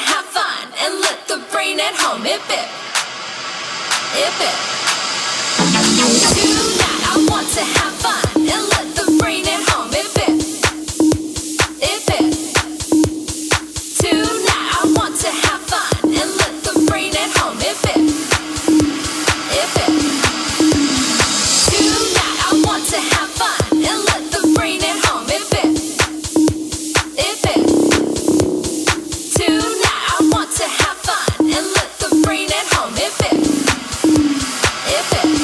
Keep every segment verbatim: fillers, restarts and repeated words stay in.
have fun and let the brain at home. If it, if it. Tonight I want to have fun and let the brain at home. If it, if it. Tonight I want to have fun and let the brain at home. If it, if it. Tonight I want to have fun and let the brain at home. If it, if it. Tonight I want to have fun and let the brain at home. If it, if it.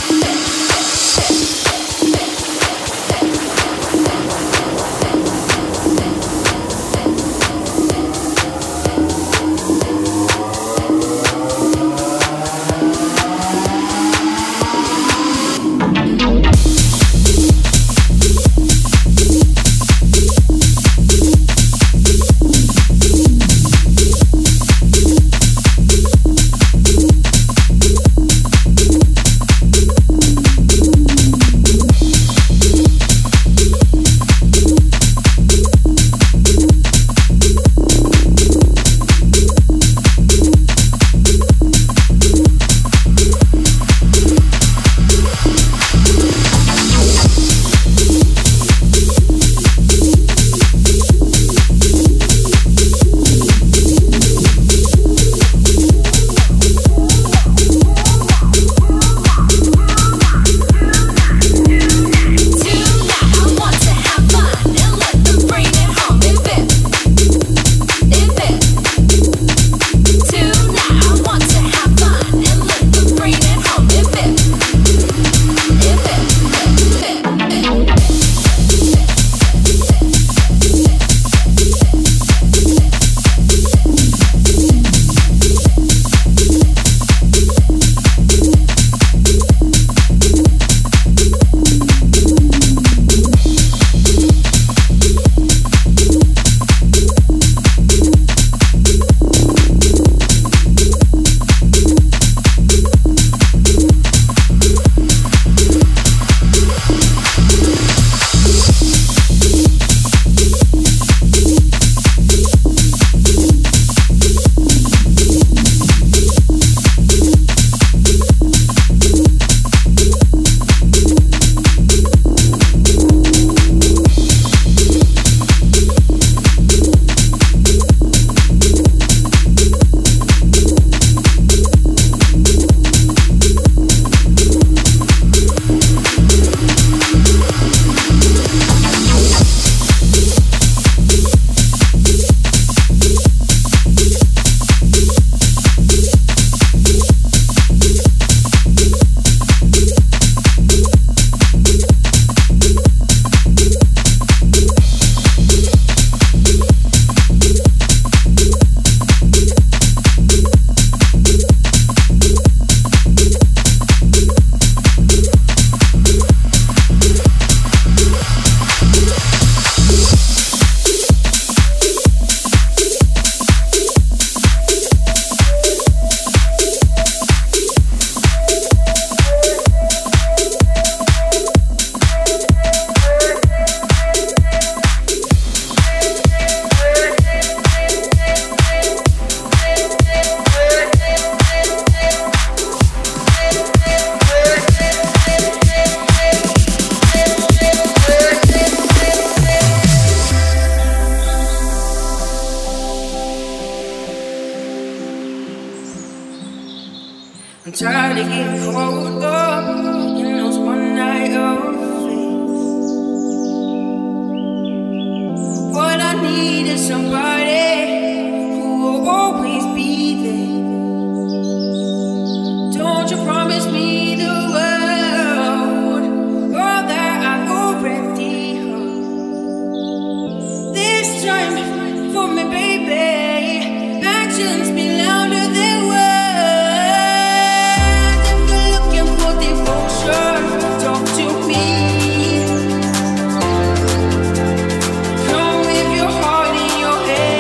I'm tired of getting caught up in those one night affairs. What I need is somebody who will always be there. Don't you promise me the world, all that I've already heard. This time for me, baby, actions be louder than words. Talk to me. Come with your heart in your head.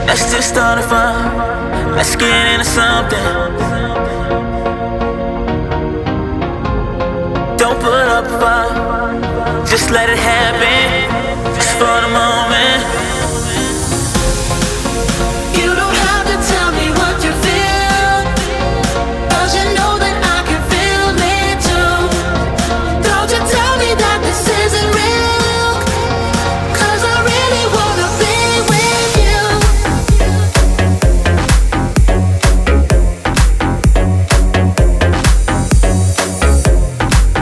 Let's just start a fire. Let's get into something. Don't put up a fight. Just let it happen. Just for the moment. You don't have to tell me what you feel, 'cause you know that I can feel it too. Don't you tell me that this isn't real, 'cause I really wanna be with you.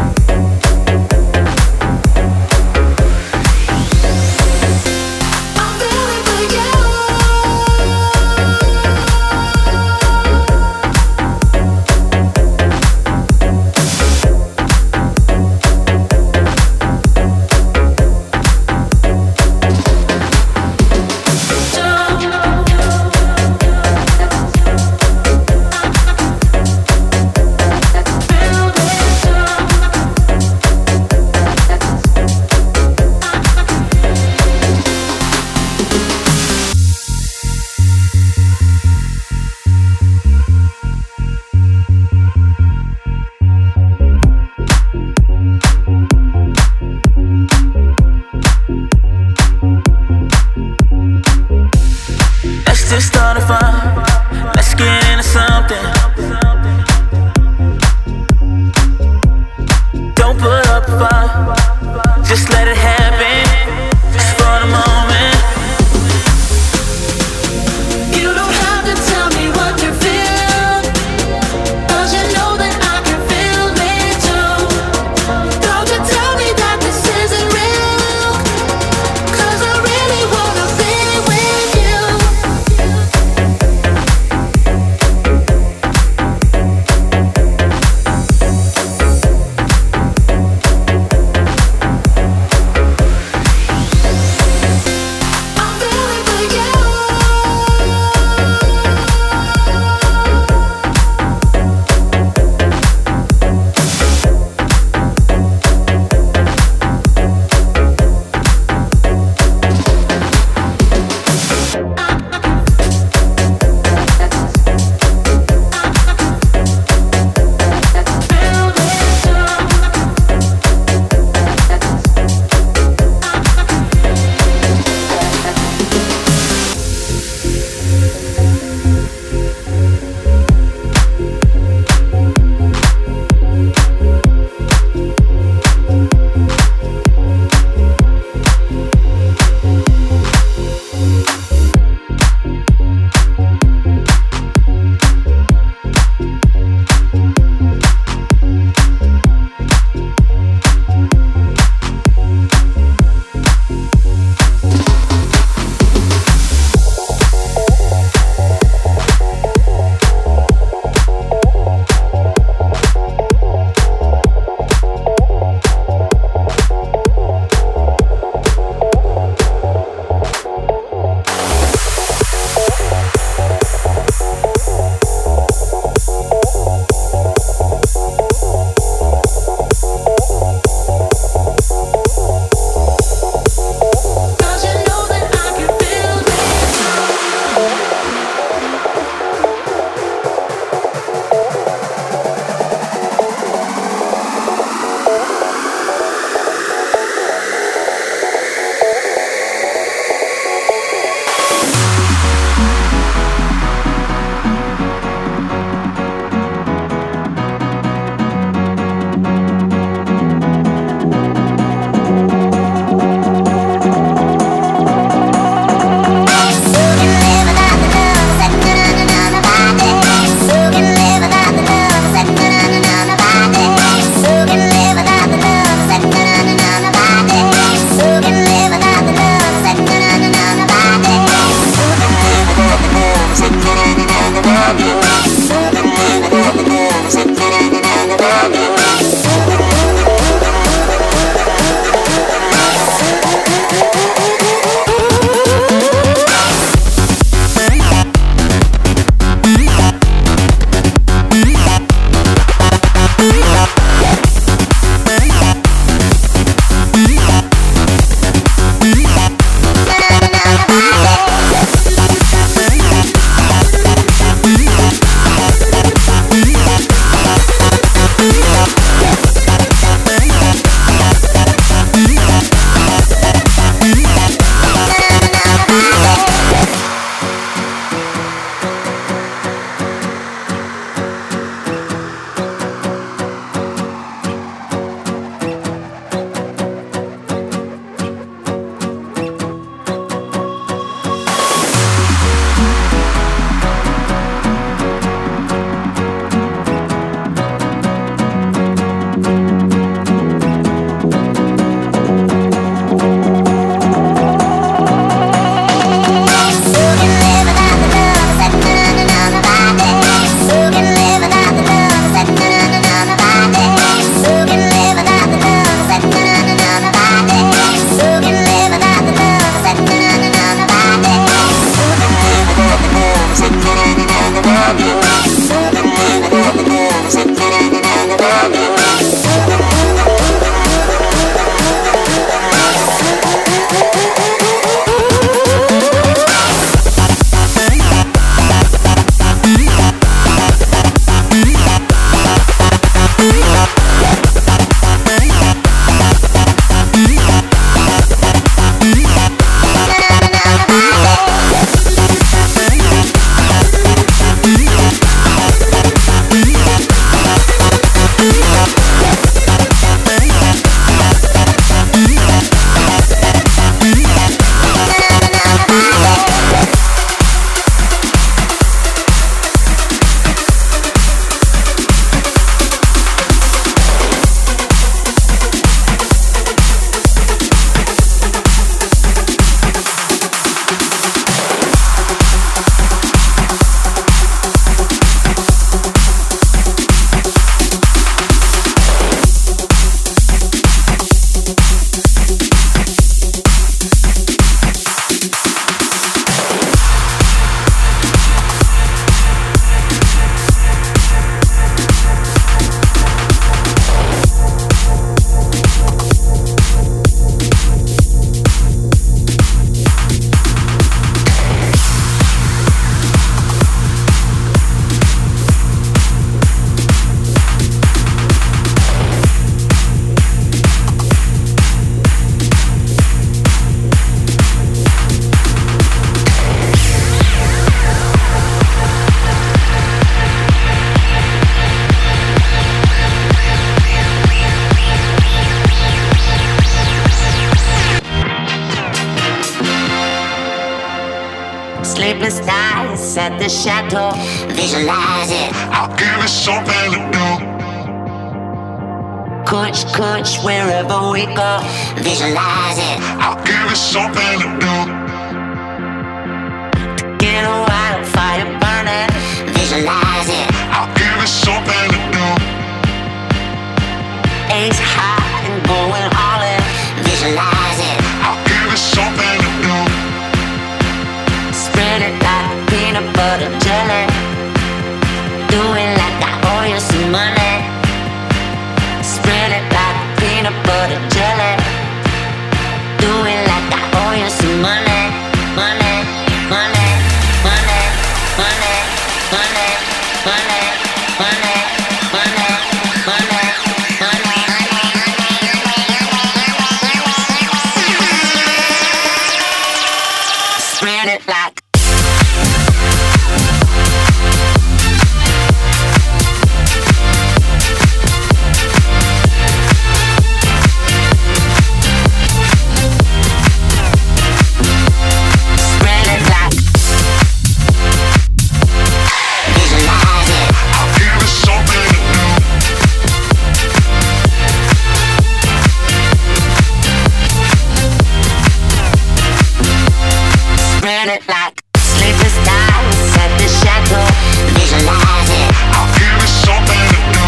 I'm at the chateau. Visualize it. I'll give it something to do. Kuch, kuch, wherever we go. Visualize it. I'll give it something to do. Get a wildfire burning. Visualize it. I'll give it something to do. Ace high and going all in. Visualize it. I'll give it something to do. Spread it like peanut butter jelly. Do it like I owe you some money. Spread it like peanut butter jelly. Do it like I owe you some money. Money, money, money, money, money, money, money, money, money, money. Spread it like like sleepless nights at the chateau. Visualize it. I'll give it something to do.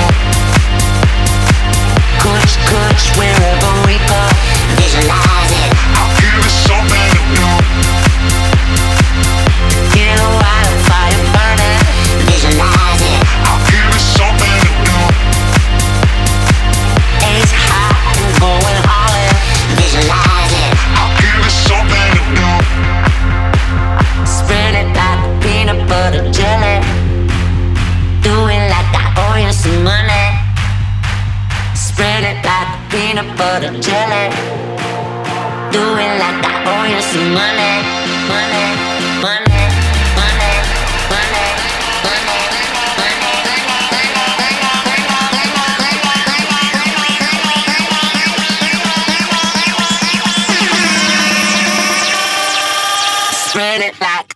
Kuch, kuch, wherever we go. Visualize it. I'll give it something to do. Get a wildfire burning. Visualize it. I'll give it something to do. Ace high and going all in. Visualize it. I'll give it something to do. Spread it like peanut butter jelly. Do it like I owe you some money. Spread it like peanut butter jelly. Do it like I owe you some money. Money, money, money, money, money, money. Spread it like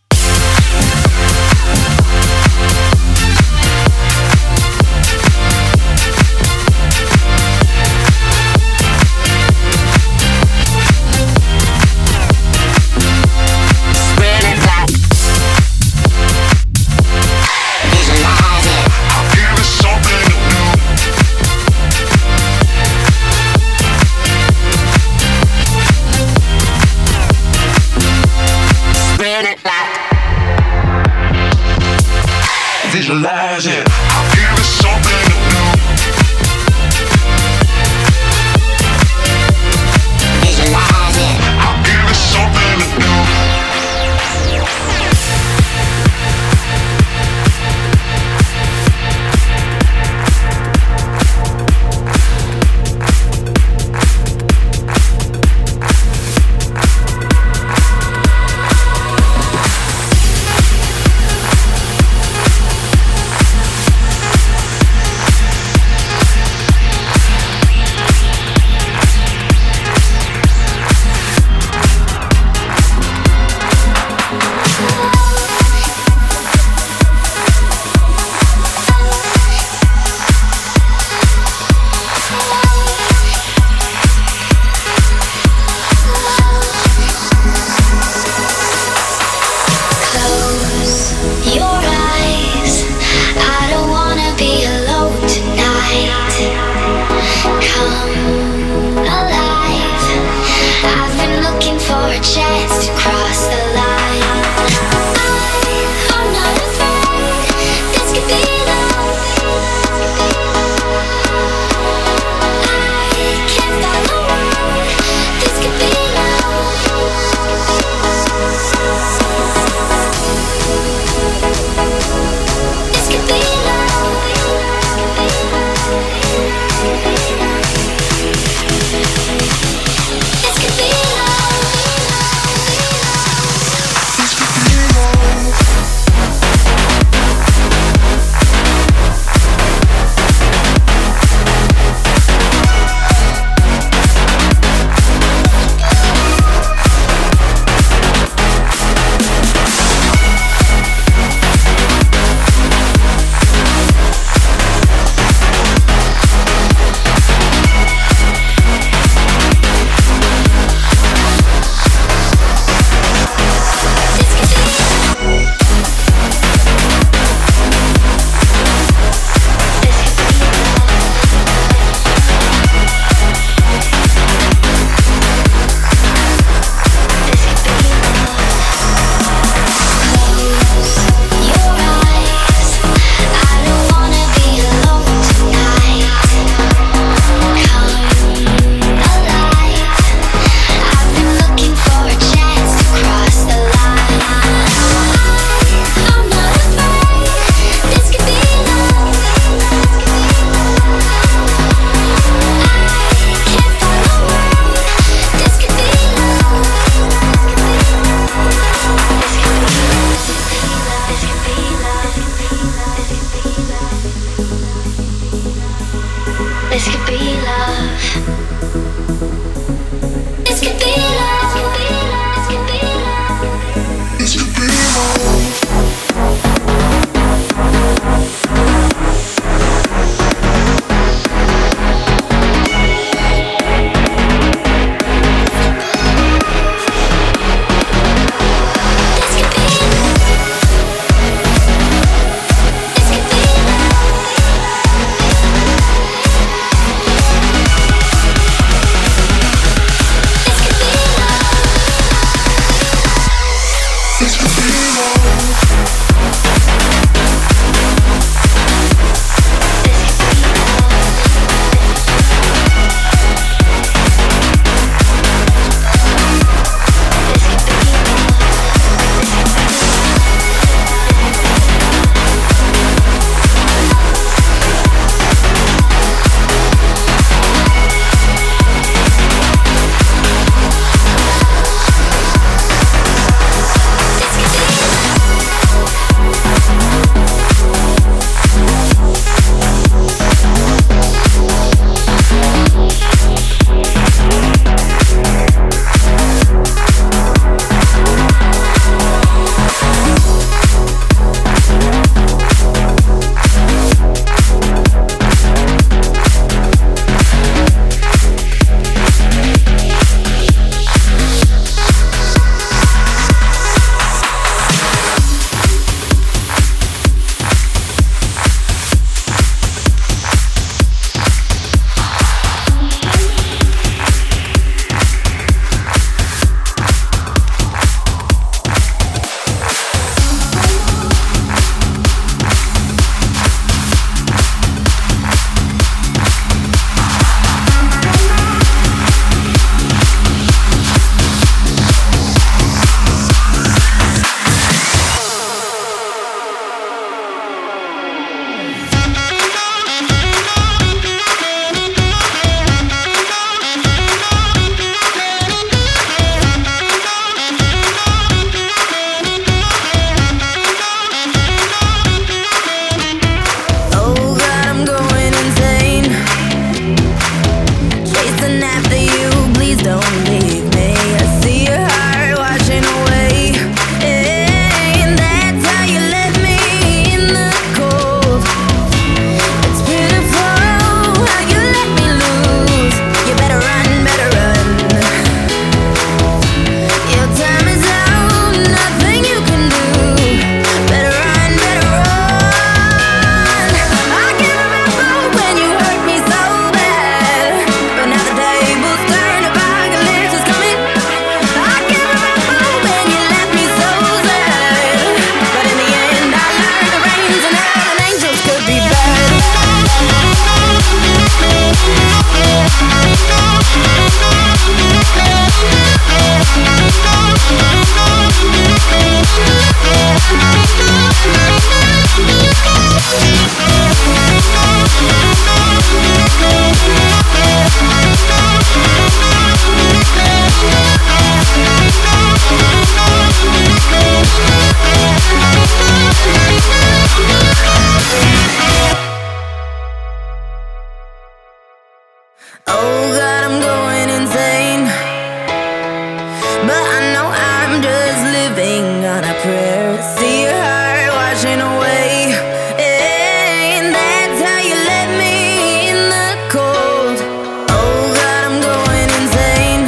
Oh God, I'm going insane. But I know I'm just living on a prayer. See your heart washing away, and that's how you left me in the cold. Oh God, I'm going insane,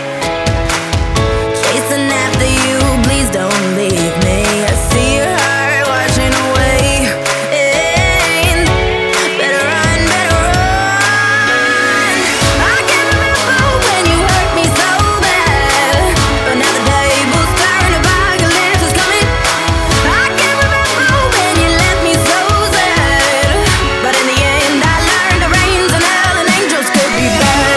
chasing after you. Please don't leave me. I see your heart washing away, and better run, better run. I can't remember when you hurt me so bad, but now the tables turn, apocalypse is coming. I can't remember when you left me so sad, but in the end I learned the rains and hell and angels could be bad.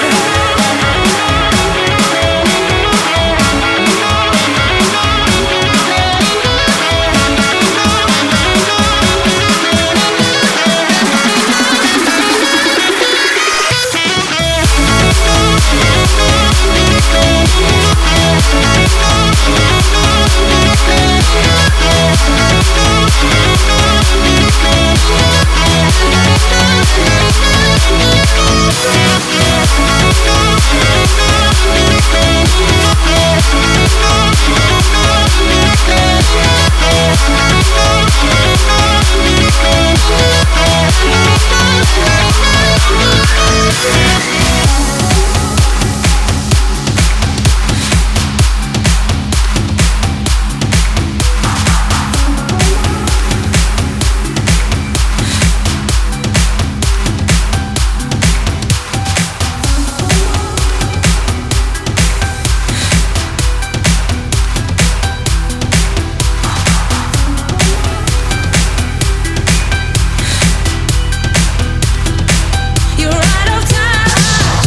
You're out of time.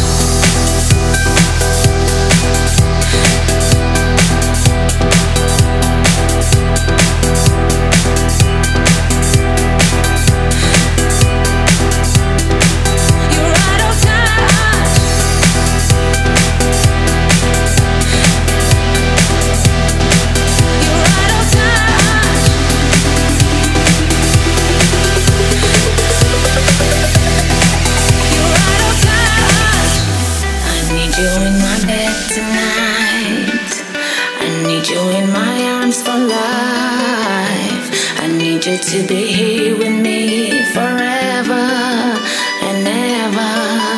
You're out of time. You're out of time. You're out of time. I need you in my bed tonight. I need you in my arms for life. I need you to be here with me forever and ever.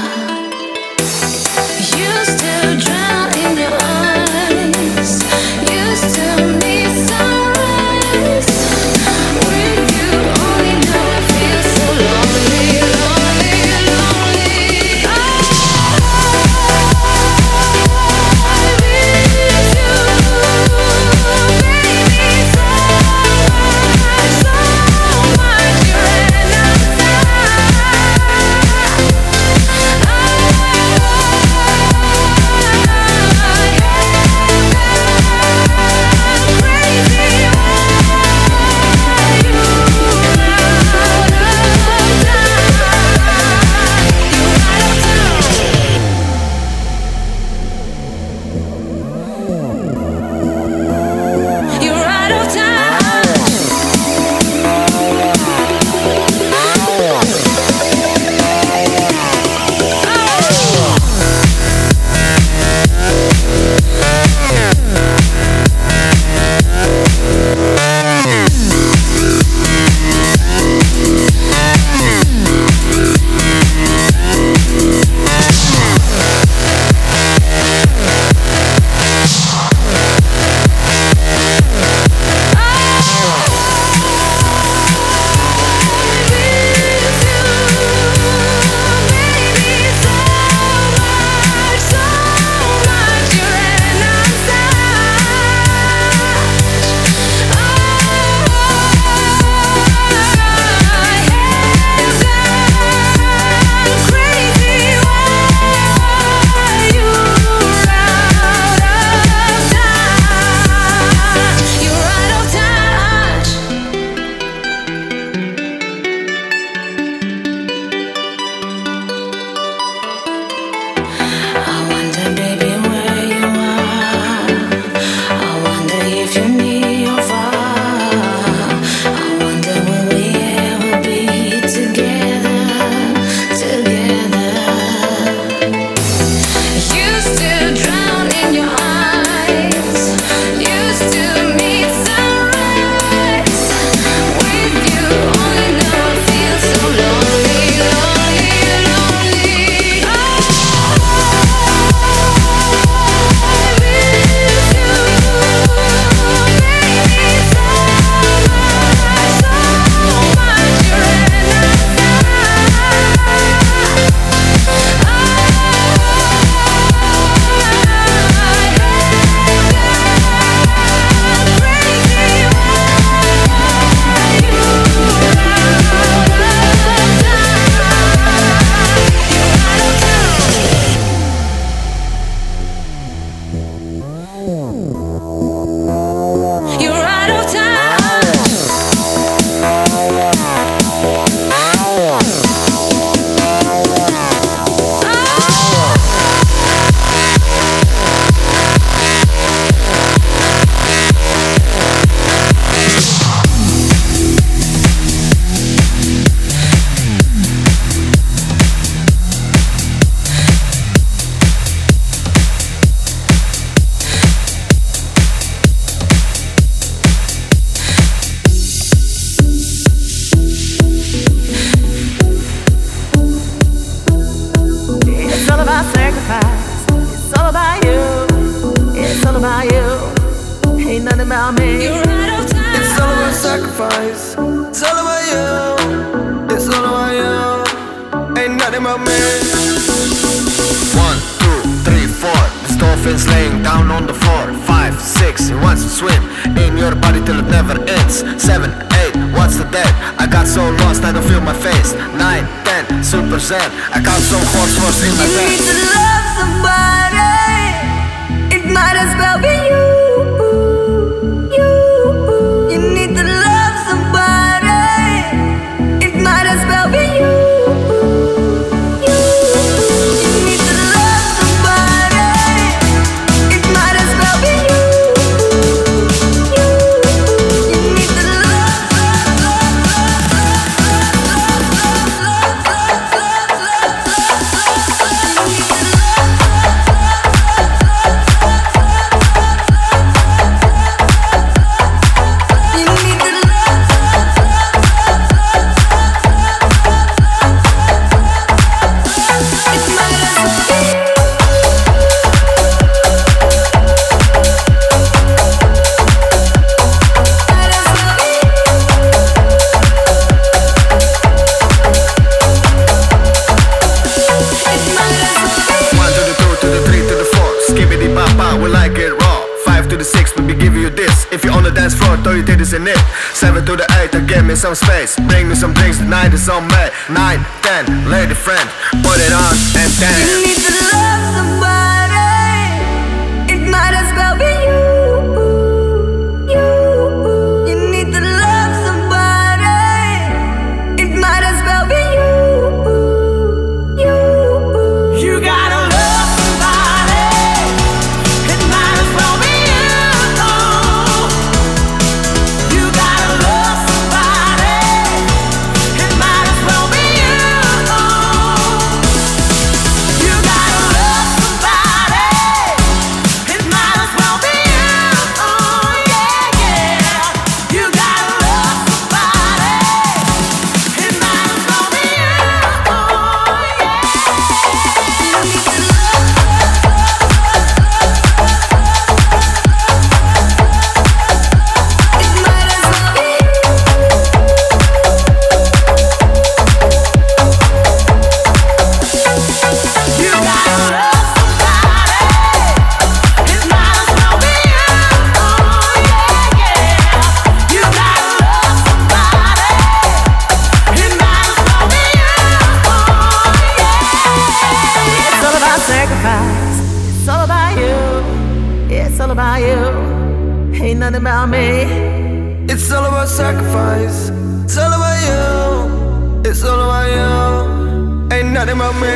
Used to drown in your eyes. Used to need sunrise. With you only know I feel so lonely, lonely, lonely. I miss you, baby, so much, so much. about you. Ain't nothing about me. You're right on time. It's all about sacrifice. It's all about you. It's all about you. Ain't nothing about me. One, two, three, four. This dolphin's laying down on the floor. Five, six, he wants to swim in your body till it never ends. Seven, eight, what's the dead? I got so lost I don't feel my face. Nine, ten, super zen. I got some horse horse in my You need pants. to love somebody. It might as well be you. You. You need to love somebody. It might as well be you. You. You need to love somebody. It might as well be you. You. You need to love, love, love, love, love, love, love, love, love, love, love, love. You need to You need to love, love, love, love, love. It might as well be you. Might as well be you. It might as well be you. One to the two, to the three, to the four. Skibbity bop bop, we like it raw. Five to the six, let me give you this. If you're on the dance floor, throw your titties in it. Seven to the eight, uh, give me some space. Bring me some drinks, the night is on me. Nine, ten, lady friend, put it on and You dance. need to love somebody. It might as well be you. You. You need to love somebody. It might as well be you. You. You gotta love somebody. It might as well be you. You gotta love somebody. It might as well be you. You gotta love somebody. It might as well be you. Yeah, yeah. You gotta love somebody. It might as well be you. It might as well be you. You gotta love somebody. It might as well be you. Yeah, yeah. You gotta love somebody. It might as well be you. Yeah. It's all about sacrifice. It's all about you. It's all about you. Ain't nothing about me. It's all about sacrifice. It's all about you. It's all about you. Ain't nothing about me.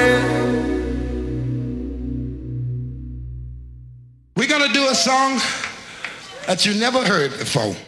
We're gonna do a song that you never heard before.